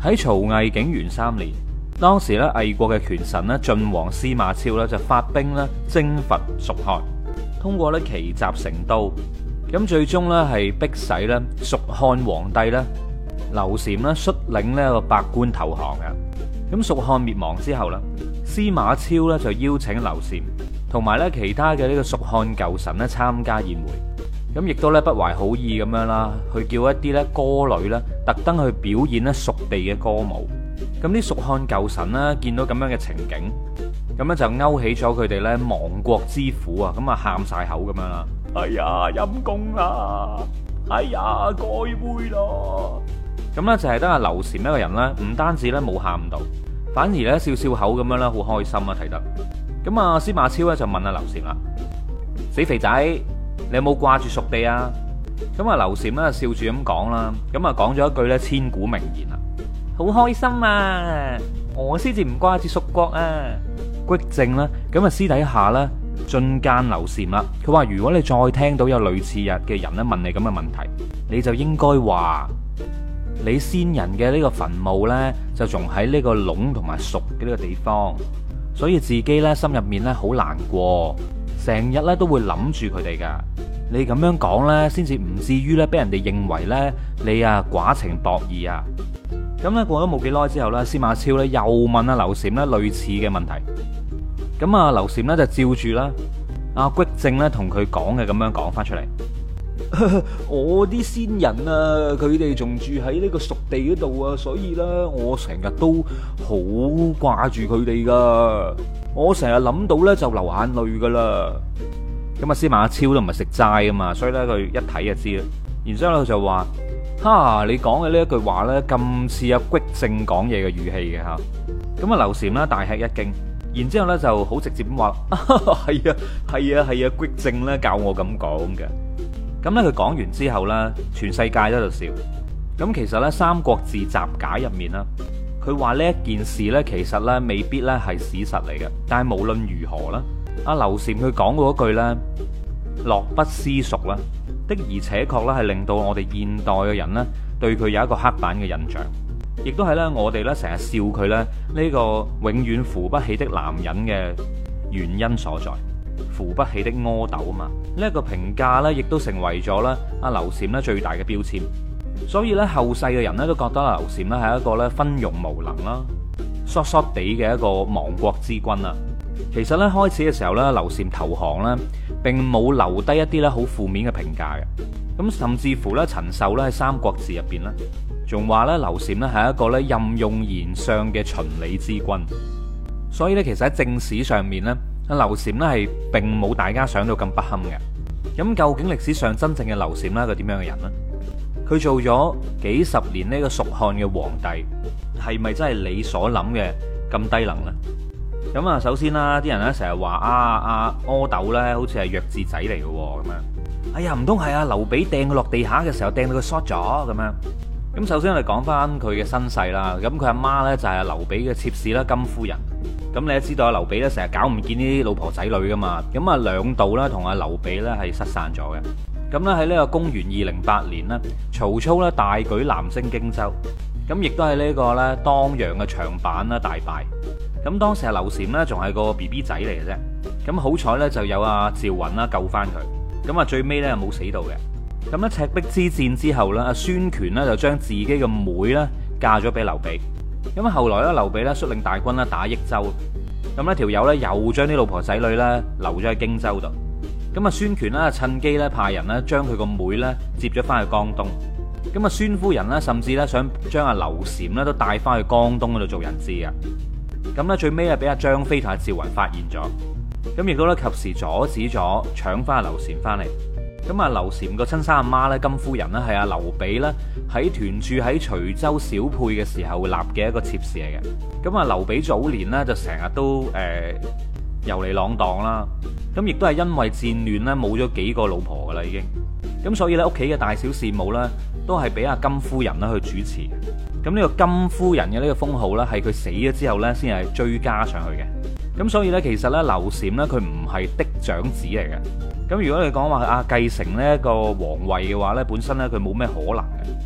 喺曹魏景元3年，當時咧魏國嘅權臣咧晉王司馬昭咧就發兵咧征伐蜀漢，通過咧奇襲成都，咁最終咧係逼使咧蜀漢皇帝咧劉禪咧率領呢個百官投降嘅。咁蜀漢滅亡之後咧，司馬昭咧就邀請劉禪同埋咧其他嘅呢個蜀漢舊臣咧參加宴會。咁亦都咧不懷好意咁樣啦，去叫一啲咧歌女咧特登去表演咧蜀地嘅歌舞。咁啲蜀漢舊臣咧見到咁樣嘅情景，咁咧就勾起咗佢哋咧亡國之苦啊！咁啊喊晒口咁樣啦，哎呀陰公啊，哎呀該會咯。咁咧就係得阿劉禪一個人咧，唔單止咧冇喊到，反而咧笑笑口咁樣啦，好開心啊睇得。咁啊司馬昭咧就問阿劉禪啦：死肥仔，你有冇掛住蜀地啊？咁啊劉禪咧笑住咁講啦，咁啊講咗一句咧千古名言啊，好開心啊！我先至唔掛住蜀國啊！虢正啦，咁啊私底下咧進諫劉禪啦，佢話如果你再聽到有類似嘅人咧問你咁嘅問題，你就應該話你先人嘅呢個墳墓咧就仲喺呢個隴同埋蜀嘅呢個地方，所以自己咧心入面咧好難過。成日咧都會諗住佢哋噶，你咁樣講咧，先至唔至於咧俾人哋認為咧你啊寡情薄義啊。咁咧過咗冇幾耐之後咧，司馬昭咧又問阿劉禪咧類似嘅問題。咁啊劉禪咧就照住啦，阿虢正咧同佢講嘅咁樣講翻出嚟。我啲先人啊，佢哋仲住喺呢個蜀地嗰度啊，所以咧我成日都好掛住佢哋噶。我成日諗到咧就流眼淚噶啦。咁啊司馬昭都唔係食齋啊嘛，所以咧佢一睇就知啦。然之後佢就話：哈，你講嘅呢一句話咧咁似阿虢正講嘢嘅語氣嘅吓。咁啊劉禪咧大吃一驚，然之後咧就好直接咁話：係啊係啊係啊，虢正咧教我咁講嘅。咁咧佢講完之後咧，全世界都喺度笑。咁其實咧《三國志集解》入面啦，佢話呢一件事呢，其實呢未必呢係史實嚟嘅，但係無論如何啦，阿劉禪佢講嗰句呢，樂不思蜀啦，的而且確呢係令到我哋現代嘅人呢對佢有一個刻板嘅印象，亦都係呢我哋呢成日笑佢呢呢個永遠扶不起的男人嘅原因所在，扶不起的阿斗啊嘛，呢一個評價呢亦都成為咗呢阿劉禪呢最大嘅標籤。所以咧，後世嘅人咧都覺得劉禪咧係一個咧昏庸無能啦、疏疏地嘅一個亡國之君啦。其實咧開始嘅時候咧，劉禪投降咧，並冇留低一啲咧好負面嘅評價嘅。咁甚至乎咧，陳壽咧喺《三國志》入邊咧，仲話咧劉禪咧係一個咧任用賢相嘅循理之君。所以咧，其實喺正史上面咧，劉禪咧係並冇大家想到咁不堪嘅。咁究竟歷史上真正嘅劉禪咧係個點樣嘅人呢？佢做咗幾十年呢個蜀漢嘅皇帝，係咪真係你所諗嘅咁低能呢？咁啊，首先啦，啲人咧成日話阿阿斗咧，好似係弱智仔嚟嘅咁樣。哎呀，唔通係阿劉備掟佢落地下嘅時候掟到佢 short 咗咁樣？咁首先我哋講翻佢嘅身世啦。咁佢阿媽咧就係阿劉備嘅妾侍啦，金夫人。咁你都知道阿劉備咧成日搞唔見啲老婆仔女噶嘛。咁啊兩度咧同阿劉備咧係失散咗嘅。咁咧喺呢個公元208年呢，曹操咧大舉南征荊州，咁亦都係呢個咧當陽嘅長板啦大敗。咁當時阿劉禪呢仲係個 BB 仔嚟嘅啫，咁好彩呢就有阿趙雲啦救翻佢，咁啊最尾呢又冇死到嘅。咁咧赤壁之戰之後呢，阿孫權呢就將自己嘅妹呢嫁咗俾劉備。咁後來咧劉備呢率領大軍咧打益州，咁呢條友呢又將啲老婆仔女呢留咗喺荊州度。咁啊，孫權咧趁機咧派人咧將佢個妹咧接咗翻去江東。咁啊，孫夫人咧甚至咧想將阿劉禪咧都帶翻去江東嗰度做人質啊。咁咧最尾啊俾阿張飛同阿趙雲發現咗，咁亦都咧及時阻止咗搶翻阿劉禪翻嚟。咁啊，劉禪個親生阿媽咧金夫人咧係阿劉備咧喺屯駐喺徐州小沛嘅時候立嘅一個妾侍嚟嘅。咁啊，劉備早年咧就成日都遊嚟浪蕩啦，咁亦都係因為戰亂咧冇咗幾個老婆噶啦已經，咁所以咧屋企嘅大小事務咧都係俾阿金夫人啦去主持。咁呢個金夫人嘅呢個封號咧係佢死咗之後咧先係追加上去嘅。咁所以咧其實咧劉禪咧佢唔係嫡長子嚟嘅。咁如果你講話繼承呢一個皇位嘅話咧，本身咧佢冇咩可能嘅。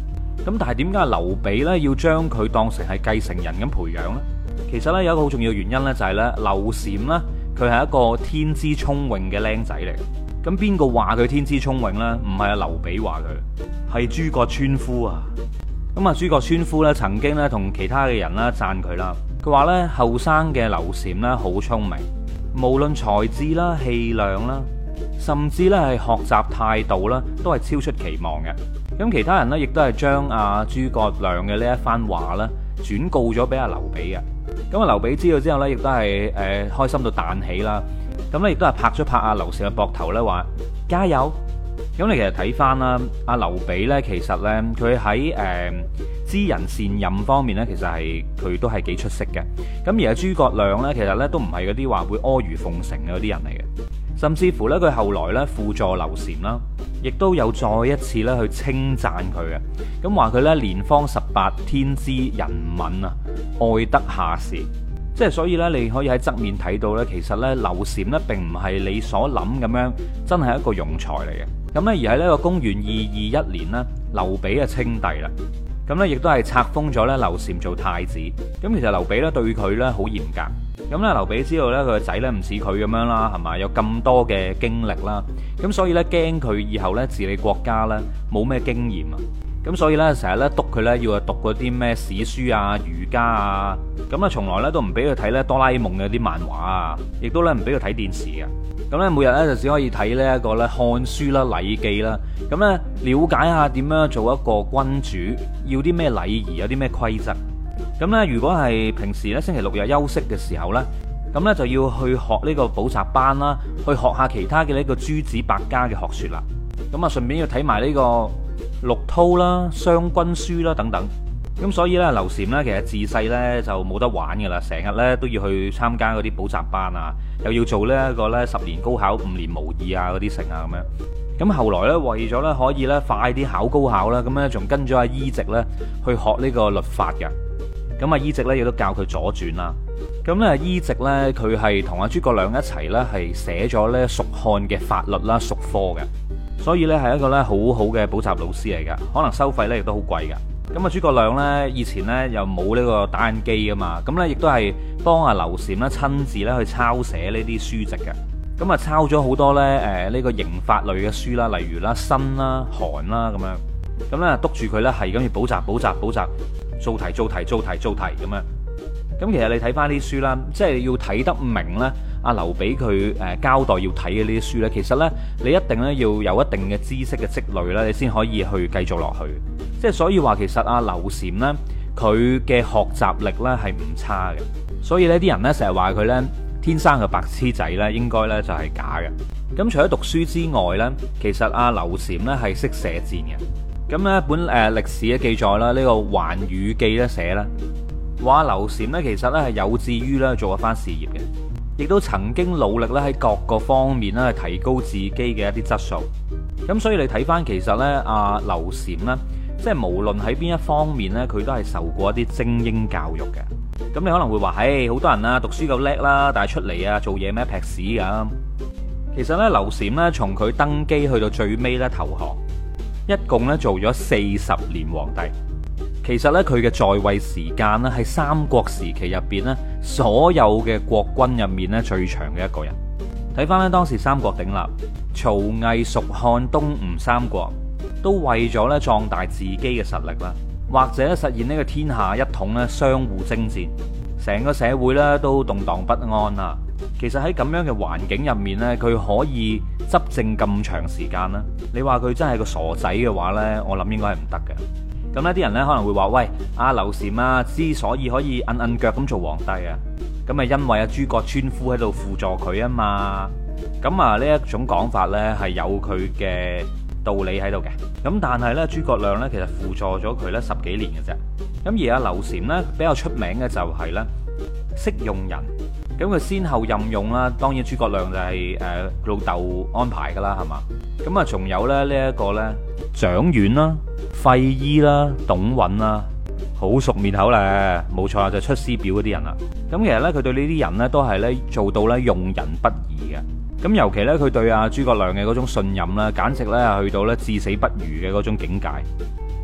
咁但係點解劉備呢要將佢當成係繼承人咁培養呢？其實呢，有一個好重要嘅原因呢，就係呢劉禪呢，佢係一個天資聰穎嘅僆仔嚟。咁邊個話佢天資聰穎呢？唔係阿劉備話佢，係諸葛村夫啊。咁啊，諸葛村夫呢曾經呢同其他嘅人啦讚佢啦，佢話呢後生嘅劉禪呢好聰明，無論才智啦、氣量啦，甚至呢係學習態度啦，都係超出期望嘅。咁其他人呢，亦都係將阿諸葛亮嘅呢一番話呢轉告咗俾阿劉備嘅。咁啊，劉備知道之後呢，亦都係開心到彈起啦。咁咧亦都係拍咗拍阿劉禪嘅膊頭咧，話加油。咁你其實睇翻啦，阿劉備呢，其實呢，佢喺知人善任方面呢，其實係佢都係幾出色嘅。咁而阿諸葛亮呢，其實呢，都唔係嗰啲話會阿諛奉承嘅嗰啲人嚟嘅。甚至乎呢，佢後來呢，輔助劉禪啦，亦都有再一次呢去稱讚佢嘅。咁話佢呢，年方18，天資仁敏啊，愛德下士。即係所以咧，你可以喺側面睇到咧，其實咧劉禪咧並唔係你所諗咁樣，真係一個庸才嚟嘅。咁咧而喺呢個公元221年呢，劉備啊稱帝啦。咁咧亦都係冊封咗咧劉禪做太子。咁其實劉備咧對佢咧好嚴格。咁咧劉備知道咧佢個仔咧唔似佢咁樣啦，係嘛，有咁多嘅經歷啦。咁所以咧驚佢以後咧治理國家咧冇咩經驗啊。咁所以咧，成日咧督佢咧，要讀嗰啲咩史書啊、儒家啊，咁啊，從來咧都唔俾佢睇咧哆啦 A 夢嘅啲漫畫啊，亦都咧唔俾佢睇電視嘅。咁咧，每日咧就只可以睇呢一個咧漢書啦、禮記啦，咁咧了解下點樣做一個君主，要啲咩禮儀，有啲咩規則。咁咧，如果係平時咧星期六日休息嘅時候咧，咁咧就要去學呢個補習班啦，去學下其他嘅呢個諸子百家嘅學説啦。咁啊，順便要睇埋呢個陸韜啦、商君書啦等等。咁所以咧，劉禪咧其實自細咧就冇得玩噶啦，成日咧都要去參加嗰啲補習班啊，又要做呢一個咧10年高考5年模擬啊嗰啲成啊咁樣。咁後來咧為咗咧可以咧快啲考高考啦，咁咧仲跟咗阿伊籍咧去學呢個律法嘅。咁阿伊籍咧亦都教佢左傳啦。咁咧伊籍咧佢係同阿諸葛亮一齊咧係寫咗咧蜀漢嘅法律啦、蜀科嘅。所以咧係一個咧好好嘅補習老師嚟噶，可能收費咧亦都好貴噶。咁啊諸葛亮咧以前咧又冇呢個打印機噶嘛，咁咧亦都係幫阿劉禪咧親自咧去抄寫呢啲書籍嘅。咁啊抄咗好多咧呢個刑法類嘅書啦，例如啦申啦、韓啦咁樣。咁咧督住佢咧係咁要補習，做題咁樣。咁其實你睇翻啲書啦，即係要睇得明咧。阿劉備佢交代要睇嘅呢啲書呢，其實呢，你一定咧要有一定嘅知識嘅積累啦，你先可以去繼續落去。即係所以話，其實阿劉禪呢，佢嘅學習力呢係唔差嘅。所以呢啲人呢，成日話佢呢天生嘅白痴仔呢，應該呢就係假嘅。咁除咗讀書之外呢，其實阿劉禪呢係識射箭嘅。咁呢本歷史嘅記載啦，呢個《環宇記》咧寫啦，話劉禪呢其實呢係有志於呢做一番事業嘅。亦都曾經努力咧喺各個方面咧提高自己嘅一啲質素。咁所以你睇翻其實呢，阿劉禪呢，即係無論喺邊一方面呢，佢都係受過一啲精英教育嘅。咁你可能會話，唉，好多人啊讀書夠叻啦，但係出嚟啊做嘢咩劈屎咁。其實呢，劉禪呢，從佢登基去到最尾咧投降，一共咧做咗40年皇帝。其實咧佢嘅在位時間咧係三國時期入邊咧所有嘅國君入面咧最長嘅一個人。睇翻咧當時三國鼎立，曹魏、蜀漢、東吳三國都為咗咧壯大自己嘅實力啦，或者實現呢個天下一統咧，相互征戰，成個社會咧都動盪不安啦。其實喺咁樣嘅環境入面咧，佢可以執政咁長時間啦。你話佢真係個傻仔嘅話咧，我諗應該係唔得嘅。咁呢啲人呢可能會話，喂，阿劉禪啊，之所以可以摁腳咁做皇帝啊，咁咪因為阿諸葛村夫喺度輔助佢啊嘛。咁啊呢一種講法呢係有佢嘅道理喺度嘅。咁但係呢，諸葛亮呢其實輔助咗佢呢10幾年嘅啫。咁而阿劉禪呢比較出名嘅就係呢識用人。咁佢先後任用啦，當然諸葛亮就係老豆安排噶啦，係嘛。咁啊仲有咧呢一個呢蔣琬啦、費禕啦、董允啦，好熟面口咧，冇錯啦，就出師表嗰啲人啦。咁其實呢，佢對呢啲人呢都係呢做到呢用人不疑嘅。咁尤其呢，佢對阿諸葛亮嘅嗰種信任呢，簡直呢係去到呢至死不渝嘅嗰種境界。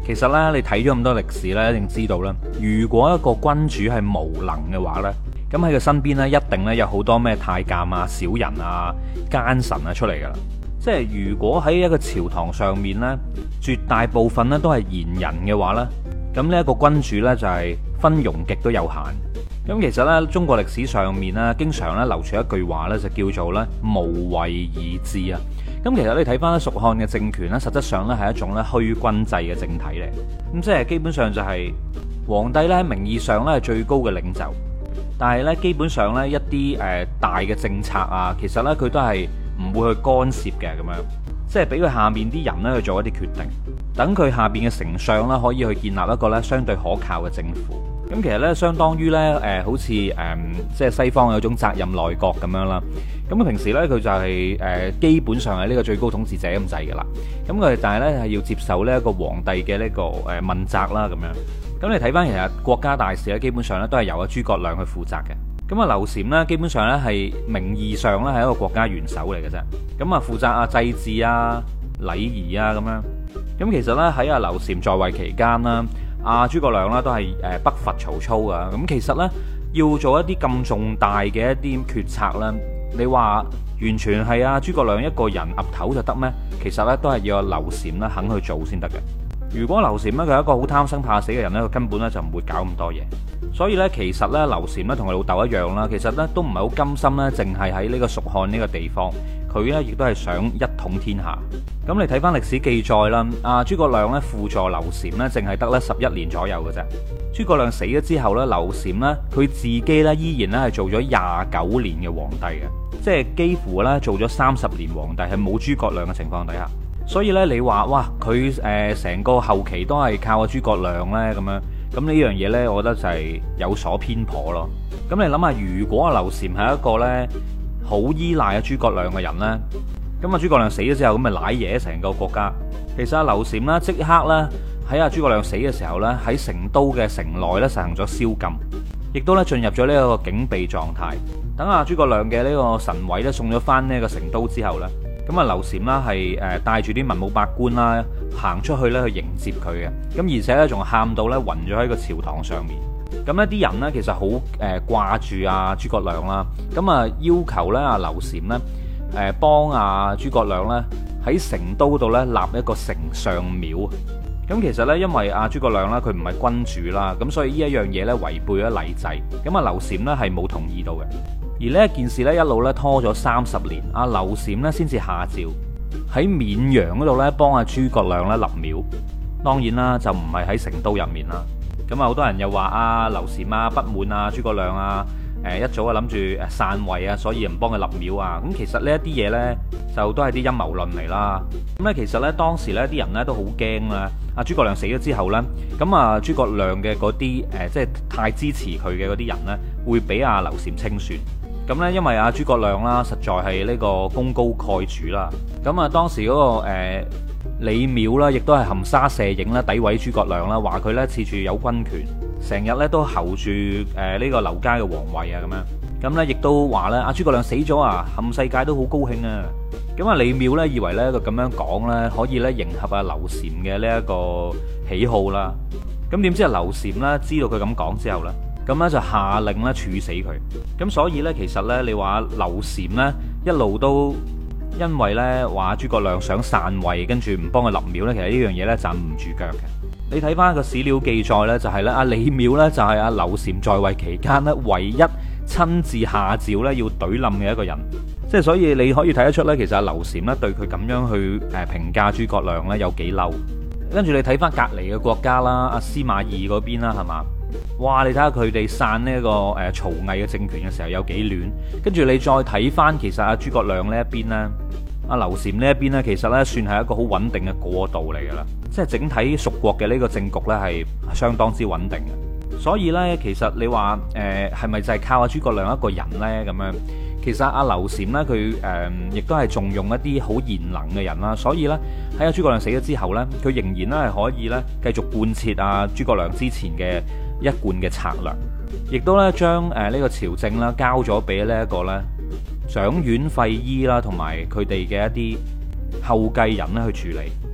其實呢，你睇咗咁多歷史呢，一定知道啦。如果一個君主係無能嘅話呢，咁喺佢身邊呢，一定呢有好多咩太監啊、小人啊、奸臣啊出嚟噶啦。即係如果喺一個朝堂上面呢，絕大部分呢都係賢人嘅話呢，咁呢一個君主呢，就係昏庸極都有限。咁其實呢，中國歷史上面呢，經常呢流傳一句話呢，就叫做呢無為而治啊。咁其實你睇翻咧蜀漢嘅政權呢，實質上呢係一種咧虛君制嘅政體嚟。咁即係基本上就係皇帝呢，喺名義上呢係最高嘅領袖，但係呢，基本上呢，一啲大嘅政策啊，其實呢，佢都係唔會去干涉嘅，咁樣即係俾佢下面啲人呢去做一啲決定，等佢下邊嘅丞相啦可以去建立一個呢相對可靠嘅政府。咁其實呢，相當於呢，好似即係西方有種責任內閣咁樣啦。咁平時呢，佢就係基本上係呢個最高統治者咁滯噶啦。咁佢但係呢，係要接受呢一個皇帝嘅呢個問責啦咁樣。咁你睇翻其實國家大事呢，基本上呢都係由阿諸葛亮去負責嘅。咁啊，劉禪呢，基本上呢係名義上呢係一個國家元首嚟嘅啫。咁啊，負責啊祭祀啊、禮儀啊咁樣。咁其實呢，喺阿劉禪在位期間啦，阿諸葛亮啦都係北伐曹操噶。咁其實呢，要做一啲咁重大嘅一啲決策啦，你話完全係阿諸葛亮一個人岌頭就得咩？其實呢，都係要阿劉禪呢肯去做先得嘅。如果劉禪呢，佢係一個好貪生怕死嘅人呢，佢根本呢就唔會搞咁多嘢。所以呢，其實呢，劉禪呢同佢老豆一樣啦，其實呢都唔係好甘心呢，淨係喺呢個蜀漢呢個地方，佢呢亦都係想一統天下。咁你睇翻歷史記載啦，阿諸葛亮呢輔助劉禪呢，淨係得呢11年左右嘅啫。諸葛亮死咗之後呢，劉禪呢，佢自己呢依然呢係做咗29年嘅皇帝嘅，即係幾乎呢做咗30年皇帝，係冇諸葛亮嘅情況底下。所以呢，你話哇，佢成個後期都係靠阿諸葛亮呢咁樣。咁呢樣嘢呢，我覺得就係有所偏頗咯。咁你諗下，如果阿劉禪係一個呢好依賴阿諸葛亮嘅人呢，咁阿諸葛亮死咗之後，咁咪瀨嘢成個國家。其實阿劉禪呢，即刻呢喺阿諸葛亮死嘅時候呢，喺成都嘅城內呢實行咗宵禁，亦都呢進入咗呢一個警備狀態。等阿諸葛亮嘅呢個神位呢送咗翻呢個成都之後呢，咁啊劉禪啦係帶住啲文武百官啦行出去咧去迎接佢嘅，咁而且咧仲喊到咧暈咗喺個朝堂上面。咁呢啲人呢，其實好掛住阿諸葛亮啦，咁啊要求咧阿劉禪咧幫阿諸葛亮咧喺成都度咧立一個丞相廟。咁其實咧因為阿諸葛亮啦佢唔係君主啦，咁所以呢一樣嘢咧違背咗禮制，咁啊劉禪咧係冇同意到嘅。而呢一件事咧一路咧拖咗30年，阿劉禪咧先至下詔喺綿陽嗰度咧幫阿諸葛亮咧立廟。當然啦，就唔係喺成都入面啦。咁啊好多人又話阿劉禪啊不滿啊諸葛亮啊，一早啊諗住篡位啊，所以唔幫佢立廟啊。咁其實呢一啲嘢呢，就都係啲陰謀論嚟啦。咁咧其實呢，當時呢啲人呢都好驚啦。阿諸葛亮死咗之後呢，咁啊諸葛亮嘅嗰啲即係太支持佢嘅嗰啲人呢，會俾阿劉禪清算。咁呢，因為阿諸葛亮啦，實在係呢個功高蓋主啦。咁啊，當時嗰個李邈啦，亦都係含沙射影啦，詆毀諸葛亮啦，話佢呢恃住有軍權，成日呢都候住呢個劉家嘅皇位啊咁樣。咁呢，亦都話呢，阿諸葛亮死咗啊，冚世界都好高興啊。咁啊，李邈呢，以為呢，佢咁樣講呢，可以呢迎合阿劉禪嘅呢一個喜好啦。咁點知阿劉禪呢，知道佢咁講之後呢，咁咧就下令咧處死佢。咁所以呢，其實呢，你話劉禪呢一路都因為呢話諸葛亮想篡位，跟住唔幫佢立廟呢，其實呢樣嘢呢站唔住腳嘅。你睇翻個史料記載呢，就係呢阿李邈呢，就係阿劉禪在位期間呢唯一親自下詔呢要懟冧嘅一個人。即係所以你可以睇得出呢，其實阿劉禪呢對佢咁樣去評價諸葛亮呢有幾嬲。跟住你睇翻隔離嘅國家啦，阿司馬懿嗰邊啦，係嘛？哇！你睇下佢哋散呢個曹魏嘅政權嘅時候有幾亂，跟住你再睇翻其實阿諸葛亮呢一邊呢，阿劉禪呢一邊呢，其實呢算係一個好穩定嘅過渡嚟噶啦，即係整體蜀國嘅呢個政局呢係相當之穩定嘅。所以呢，其實你話係咪就係靠阿諸葛亮一個人呢？咁樣？其實阿劉禪呢，佢亦都係重用一啲好賢能嘅人啦，所以呢，喺阿諸葛亮死咗之後呢，佢仍然呢係可以呢繼續貫徹阿諸葛亮之前嘅一貫嘅策略，亦都咧將呢個朝政啦交咗俾呢一個咧蔣琬、費禕啦，同埋佢哋嘅一啲後繼人咧去處理。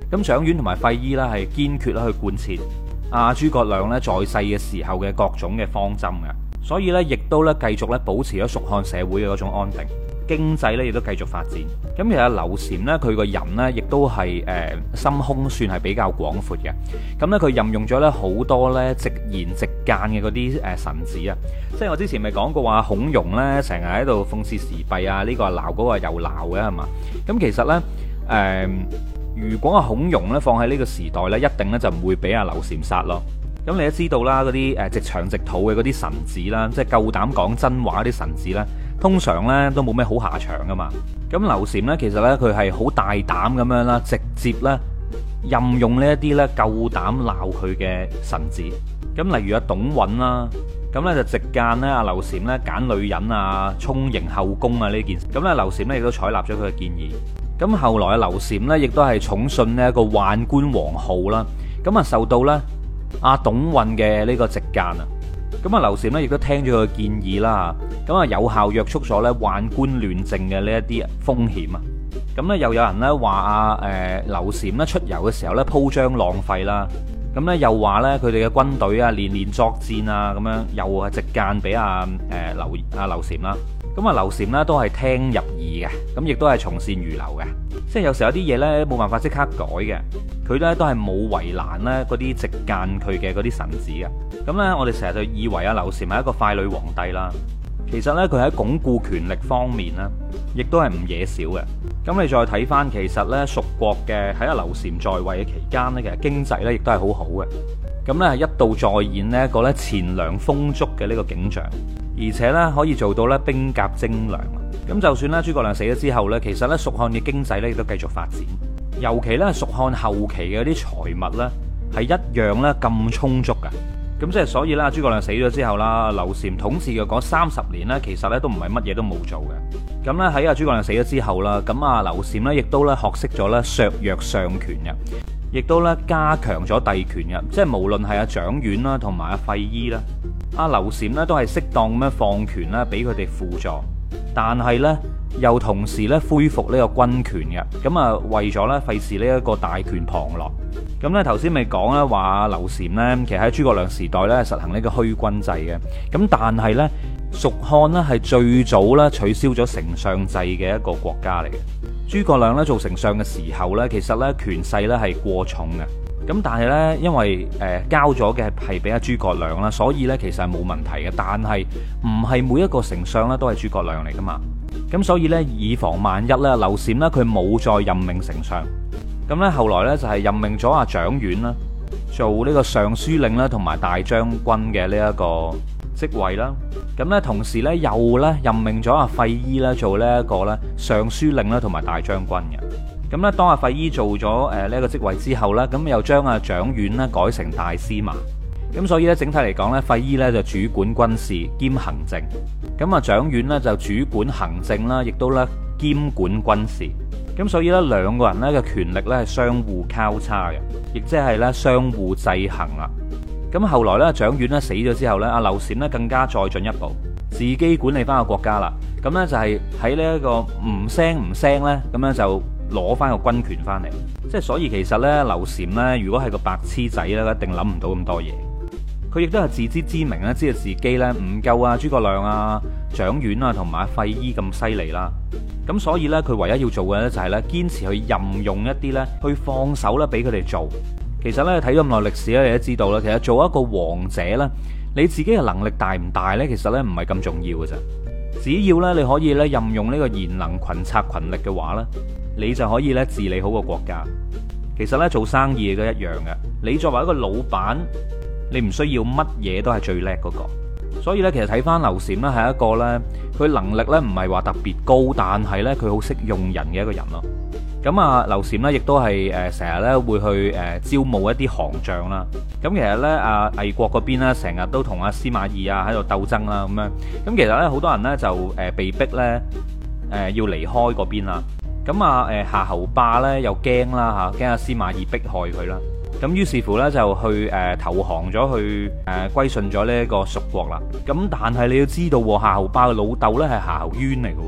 咁蔣琬同埋費禕呢係堅決去貫徹阿諸葛亮呢在世嘅時候嘅各種嘅方針嘅，所以呢亦都呢繼續呢保持咗蜀漢社會嘅嗰種安定，經濟呢亦都繼續發展。咁其實劉禪呢，佢個人呢亦都係心胸算係比較廣闊嘅。咁呢，佢任用咗呢好多呢直言直諫嘅嗰啲臣子啊，即係我之前咪講過話孔融呢成日喺度諷刺時弊啊，呢個鬧嗰個又鬧嘅係嘛？咁其實呢，如果阿孔融呢放喺呢個時代呢，一定呢就唔會俾阿劉禪殺咯。咁你都知道啦，嗰啲直腸直肚嘅嗰啲臣子啦，即係夠膽講真話啲臣子呢，通常呢都冇咩好下場噶嘛。咁劉禪呢，其實呢，佢係好大膽咁樣啦，直接呢任用呢一啲呢夠膽鬧佢嘅臣子。咁例如阿董允啦，咁呢就直諫呢阿劉禪呢揀女人啊、充盈後宮啊呢件事。咁呢劉禪呢亦都採納咗佢嘅建議。咁後來阿劉禪呢亦都係寵信呢一個宦官王浩啦。咁啊受到呢阿董允嘅呢個直諫啊，咁啊劉禪呢亦都聽咗佢嘅建議啦，咁啊有效約束咗呢宦官亂政嘅呢一啲風險啊。咁呢又有人呢話阿劉禪呢出遊嘅時候呢鋪張浪費啦，咁呢又話呢佢哋嘅軍隊啊連連作戰啊，咁樣又係直諫俾阿劉禪啦。咁啊劉禪呢都係聽入耳嘅，咁亦都係從善如流嘅，即係有時候有啲嘢呢冇辦法即刻改嘅，佢呢都係冇為難呢嗰啲直諫佢嘅嗰啲臣子嘅。咁呢，我哋成日就以為阿劉禪係一個傀儡皇帝啦，其實呢，佢喺鞏固權力方面呢，亦都係唔惹少嘅。咁你再睇翻，其實呢，蜀國嘅喺阿劉禪在位嘅期間呢，其實經濟呢亦都係好好嘅。咁呢，係一度再現呢一個呢錢糧豐足嘅呢個景象，而且呢，可以做到呢兵甲精良。咁就算呢諸葛亮死咗之後呢，其實呢，蜀漢嘅經濟呢亦都繼續發展，尤其呢，蜀漢後期嘅啲財物呢，係一樣呢咁充足嘅。咁即係所以啦，諸葛亮死咗之後啦，劉禪統治嘅嗰30年呢，其實呢都唔係乜嘢都冇做嘅。咁呢，喺阿諸葛亮死咗之後啦，咁啊劉禪呢亦都呢學識咗呢削弱相權嘅，亦都呢加強咗帝權嘅，即係無論係阿蔣琬啦同埋阿費禕啦，阿劉禪呢都係適當咁樣放權啦俾佢哋輔助，但係呢，又同時呢恢復呢個軍權嘅，咁啊為咗呢費事呢一個大權旁落。咁咧頭先咪講啦，話劉禪呢，其實喺諸葛亮時代呢實行呢個虛君制嘅，咁但係呢，蜀漢呢係最早呢取消咗丞相制嘅一個國家嚟嘅。諸葛亮呢做丞相嘅時候呢，其實呢權勢呢係過重嘅，咁但係呢，因為交咗嘅係俾阿諸葛亮啦，所以呢其實係冇問題嘅。但係唔係每一個丞相呢都係諸葛亮嚟噶嘛，咁所以呢，以防萬一呢，劉禪呢佢冇再任命丞相。咁咧，後來咧就係任命咗阿蔣琬啦，做呢個尚書令啦，同埋大將軍嘅呢一個職位啦。咁咧，同時咧又咧任命咗阿費禕啦，做呢一個咧尚書令啦，同埋大將軍嘅。咁咧，當阿費禕做咗呢一個職位之後咧，咁又將阿蔣琬咧改成大司馬。咁所以咧，整體嚟講咧，費禕咧就主管軍事兼行政，咁啊蔣琬咧就主管行政啦，亦都咧兼管軍事。咁所以咧，兩個人咧嘅權力咧係相互交叉嘅，亦即係咧相互制衡啦。咁後來咧，蔣琬咧死咗之後咧，阿劉禪咧更加再進一步，自己管理翻個國家啦。咁咧就係喺呢一個唔聲咧，咁樣就攞翻個軍權翻嚟。即係所以其實咧，劉禪咧如果係個白痴仔咧，一定諗唔到咁多嘢。佢亦都係自知之明咧，知道自己咧唔夠啊諸葛亮啊、蔣琬啊同埋費禕咁犀利啦。咁所以咧，佢唯一要做嘅咧就係咧堅持去任用一啲咧去放手咧俾佢哋做。其實咧睇咗咁耐歷史咧，你都知道啦。其實做一個王者咧，你自己嘅能力大唔大咧，其實咧唔係咁重要嘅啫。只要咧你可以咧任用呢個賢能群策群力嘅話咧，你就可以咧治理好個國家。其實咧做生意都一樣嘅。你作為一個老闆，你唔需要乜嘢都係最叻嗰個。所以咧，其實睇翻劉禪咧係一個咧，佢能力咧唔係話特別高，但係咧佢好識用人嘅一個人咯。咁啊，劉禪咧亦都係成日咧會去招募一啲行將啦。咁其實咧魏國嗰邊咧成日都同阿司馬懿啊喺度鬥爭啦咁樣。咁其實咧好多人咧就被逼咧要離開嗰邊啦。咁啊夏侯霸咧又驚啦嚇，驚阿司馬懿迫害佢啦。咁於是乎咧就去投降咗，去歸順咗呢一個蜀國啦。咁但係你要知道，夏侯霸嘅老豆咧係夏侯淵嚟嘅。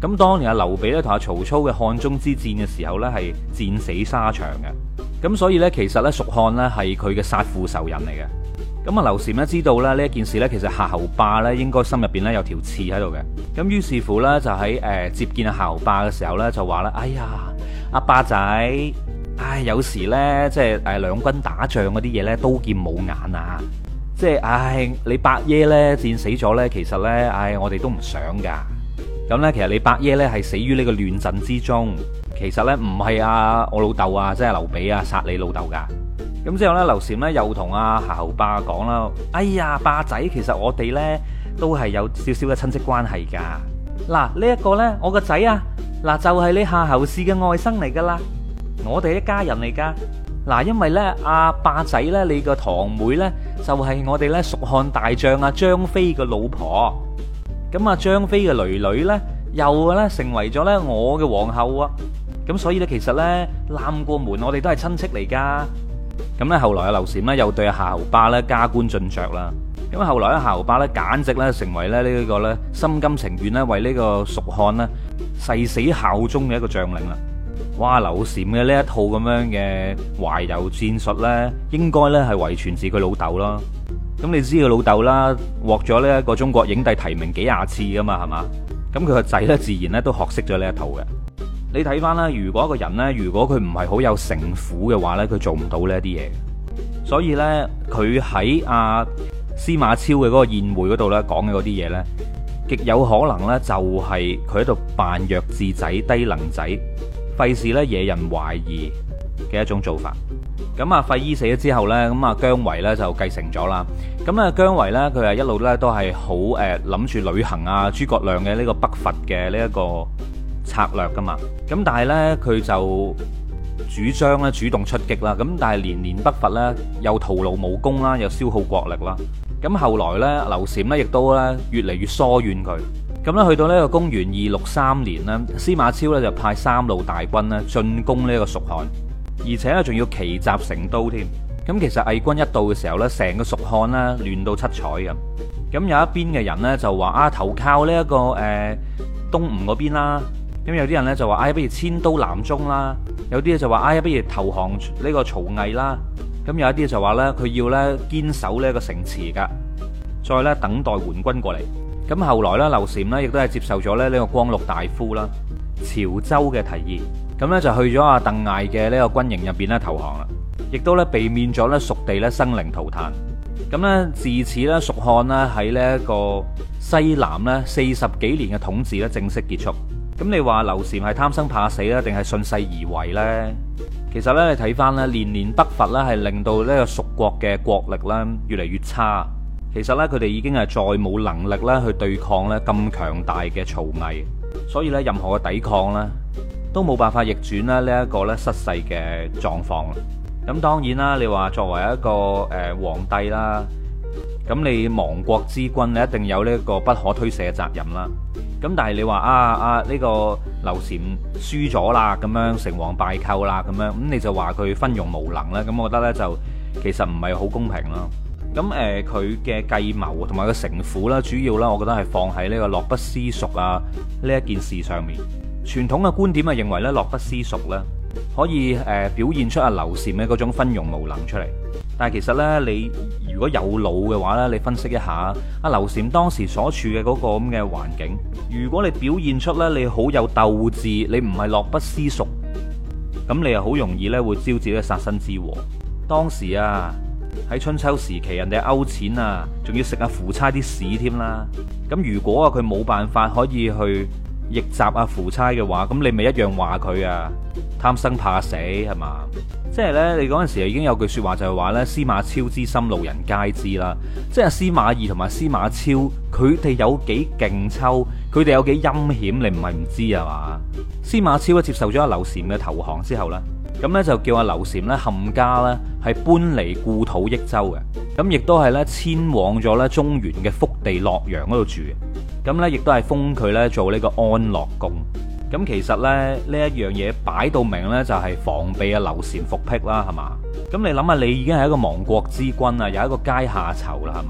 咁當年阿劉備咧同阿曹操嘅漢中之戰嘅時候呢，係戰死沙場嘅。咁所以呢，其實呢，蜀漢呢係佢嘅殺父仇人嚟嘅。咁啊劉禪呢知道咧呢一件事呢，其實夏侯霸呢應該心入邊呢有條刺喺度嘅。咁於是乎呢，就喺接見阿夏侯霸嘅時候呢，就話啦：哎呀，阿霸仔，有時呢，即係兩軍打仗嗰啲嘢呢，刀劍冇眼啊！即係你伯爺呢戰死咗呢，其實呢，我哋都唔想噶。咁呢，其實你伯爺呢係死於呢個亂陣之中，其實呢，唔係我老豆啊，即係劉備啊殺你老豆噶。咁之後呢，劉禪呢又同阿夏侯霸講啦：哎呀，霸仔，其實我哋呢都係有少少嘅親戚關係噶。嗱，呢一個呢，我個仔啊，嗱就係你夏侯氏嘅外甥嚟噶啦，我哋一家人嚟噶。嗱，因為呢，阿霸仔呢，你個堂妹呢，就係我哋呢蜀漢大將阿張飛嘅老婆。咁啊，張飛嘅囡囡呢，又呢成為咗呢我嘅皇后啊。咁所以呢，其實呢，攬過門，我哋都係親戚嚟噶。咁呢，後來阿劉禪呢，又對阿夏侯霸呢加官進爵啦。咁後來阿夏侯霸呢，簡直呢成為咧呢個呢心甘情願呢為呢個蜀漢呢誓死效忠嘅一個將領啦。哇！劉禪嘅呢一套咁樣嘅懷柔戰術呢，應該呢係遺傳自佢老豆咯。咁你知佢老豆啦，獲咗呢一個中國影帝提名幾廿次噶嘛，係嘛？咁佢個仔呢，自然呢都學識咗呢一套嘅。你睇翻啦，如果一個人呢，如果佢唔係好有城府嘅話呢，佢做唔到呢啲嘢。所以呢，佢喺阿司馬昭嘅嗰個宴會嗰度呢講嘅嗰啲嘢呢，極有可能呢就係佢喺度扮弱智仔、低能仔，費事呢惹人懷疑嘅一種做法。咁啊，費禕死咗之後呢，咁啊姜維呢就繼承咗啦。咁啊姜維呢，佢係一路呢都係好諗住履行啊諸葛亮嘅呢個北伐嘅呢一個策略噶嘛。咁但係呢，佢就主張咧主動出擊啦。咁但係年年北伐呢，又徒勞無功啦，又消耗國力啦。咁後來呢，劉禪呢亦都咧越嚟越疏遠佢。咁咧去到呢個公元263年呢，司馬昭咧就派三路大軍咧進攻呢個蜀漢，而且咧仲要奇襲成都添。咁其實魏軍一到嘅時候呢，成個蜀漢呢亂到七彩咁。咁有一邊嘅人呢，就話投靠呢一個東吳嗰邊啦。咁有啲人呢，就話不如遷都南中啦。有啲就話不如投降呢個曹魏啦。咁有一啲就話呢，佢要呢堅守呢個城池噶，再呢等待援軍過嚟。咁後來呢，劉禪呢亦都係接受咗呢個光祿大夫啦潮州嘅提議，咁呢，就去咗阿鄧艾嘅呢個軍營入邊呢投降啦，亦都呢避免咗呢蜀地呢生靈塗炭。咁呢，自此呢，蜀漢呢喺呢一個西南呢40幾年嘅統治呢正式結束。咁你話劉禪係貪生怕死啦，定係順勢而為呢？其實呢，你睇翻呢年年北伐呢係令到呢個蜀國嘅國力呢越嚟越差。其實呢，佢哋已經係再冇能力咧去對抗呢咁強大嘅曹魏，所以呢，任何嘅抵抗呢都冇辦法逆轉呢一個呢失勢嘅狀況。咁當然啦，你話作為一個皇帝啦，咁你亡國之君，你一定有呢個不可推卸嘅責任啦。咁但係你話呢個劉禪輸咗啦，咁樣成王敗寇啦，咁樣咁你就話佢昏庸無能咧？咁我覺得呢，就其實唔係好公平咯。咁佢嘅計謀同埋個城府啦，主要啦，我覺得係放喺呢個樂不思蜀啊呢一件事上面。傳統嘅觀點係認為咧，樂不思蜀咧可以表現出阿劉禪嘅嗰種昏庸無能出嚟。但係其實呢，你如果有腦嘅話呢，你分析一下阿劉禪當時所處嘅嗰個咁嘅環境，如果你表現出呢，你好有鬥志，你唔係樂不思蜀，咁你又好容易呢會招致呢殺身之禍。當時啊喺春秋時期，人哋勾踐啊，仲要食阿夫差啲屎添啦。咁如果佢冇辦法可以去逆襲阿夫差嘅話，咁你咪一樣話佢貪生怕死係嘛？即係呢，你嗰陣時已經有句說話就係話呢，司馬昭之心路人皆知啦。即係司馬懿同埋司馬昭，佢哋有幾勁抽，佢哋有幾陰險，你唔係唔知係嘛？司馬昭接受咗阿劉禪嘅投降之後呢，咁呢就叫阿劉禪呢冚家呢係搬離故土益州嘅，咁亦都係呢遷往咗呢中原嘅福地洛陽嗰度住嘅，咁呢亦都係封佢呢做呢個安樂公。咁其實呢一樣嘢擺到明呢，就係防備阿劉禪復辟啦，係嘛？咁你諗下，你已經係一個亡國之君啊，有一個階下囚啦，係嘛？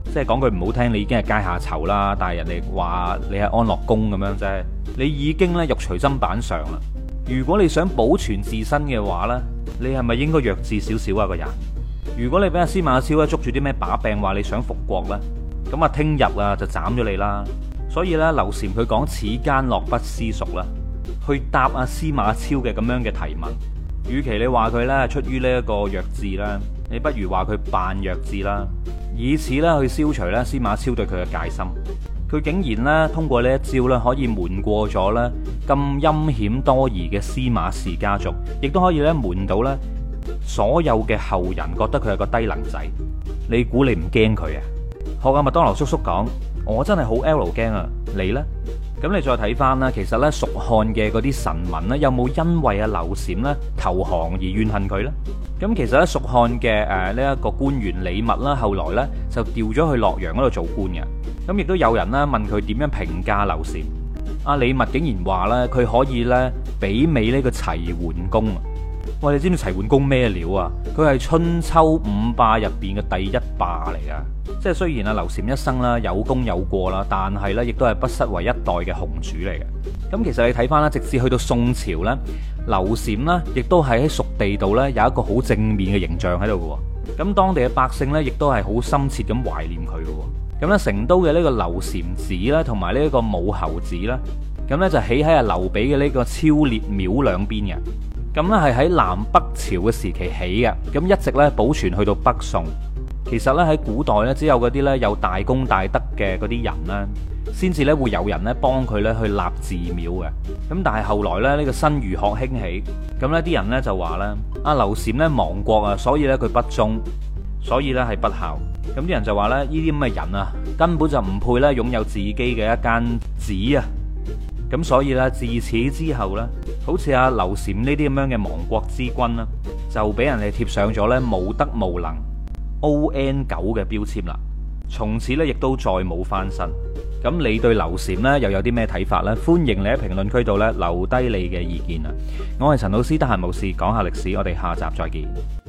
即係講句唔好聽，你已經係階下囚啦，但係人哋話你係安樂宮咁樣啫，你已經咧肉隨砧板上啦。如果你想保存自身嘅話呢，你係咪應該弱智少少啊個人？如果你俾阿司馬昭咧捉住啲咩把柄，話你想復國呢，咁啊聽日啊就斬咗你啦。所以呢，劉禪佢講此間樂不思蜀啦，去答阿司馬昭嘅咁樣嘅提問。與其你話佢呢出於呢一個弱智啦，你不如話佢扮弱智啦，以此咧去消除咧司馬昭對佢嘅戒心。佢竟然咧通過呢一招咧，可以瞞過咗咧咁陰險多疑嘅司馬氏家族，亦都可以咧瞞到咧所有嘅後人覺得佢係個低能仔。你估你唔驚佢啊？學阿麥當勞叔叔講，我真係好 L 驚啊！你呢？咁你再睇翻啦，其實咧蜀漢嘅嗰啲臣民咧，有冇因為阿劉禪咧投降而怨恨佢呢？咁其實咧蜀漢嘅呢一個官員李密啦，後來咧就調咗去洛陽嗰度做官嘅。咁亦都有人咧問佢點樣評價劉禪，阿李密竟然話咧佢可以咧媲美呢個齊桓公啊！喂，你知唔知齊桓公咩料啊？佢係春秋五霸入邊嘅第一霸嚟噶。即係雖然阿劉禪一生啦有功有過啦，但係咧亦都係不失為一代嘅雄主嚟嘅。咁其實你睇翻啦，直至去到宋朝咧，劉禪呢亦都係喺蜀地度咧有一個好正面嘅形象喺度嘅。咁當地嘅百姓咧亦都係好深切咁懷念佢嘅。咁咧成都嘅呢個劉禪寺咧，同埋呢一個武侯寺啦，咁咧就起喺阿劉備嘅呢個超烈廟兩邊嘅。咁咧係喺南北朝嘅時期起嘅，咁一直咧保存去到北宋。其實咧喺古代咧，只有嗰啲咧有大功大德嘅嗰啲人咧，先至咧會有人咧幫佢咧去立寺廟嘅。咁但係後來咧呢個新儒學興起，咁呢啲人咧就話咧阿劉禪咧亡國啊，所以咧佢不忠，所以咧係不孝。咁啲人就話咧呢啲咁嘅人啊，根本就唔配咧擁有自己嘅一間寺啊。咁所以咧自此之後咧，好似阿劉禪呢啲咁樣嘅亡國之君啦，就俾人哋貼上咗咧無德無能ON9嘅標籤啦。從此咧亦都再冇翻身。咁你對劉禪呢又有啲咩睇法呢？歡迎你喺評論區度咧留低你嘅意見啊！我係陳老師，得閒無事講下歷史，我哋下集再見。